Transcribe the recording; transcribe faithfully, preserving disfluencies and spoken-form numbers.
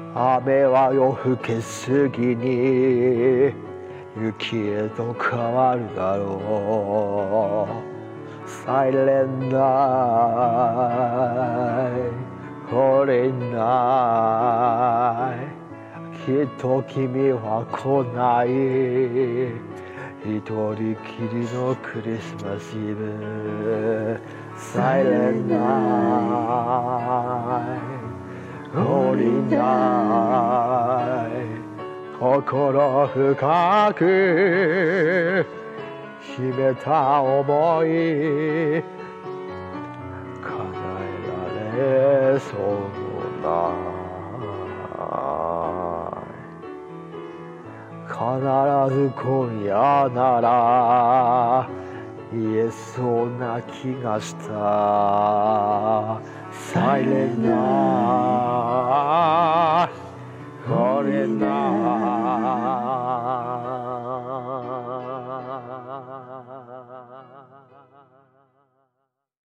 雨は夜更けすぎに雪へと変わるだろう。サイレンナイホリナイきっと君は来ない。一人きりのクリスマスイブ。サイレンナイホリナイ心深く秘めた想い叶えられそうもない。必ず今夜なら言えそうな気がした。サイレンナ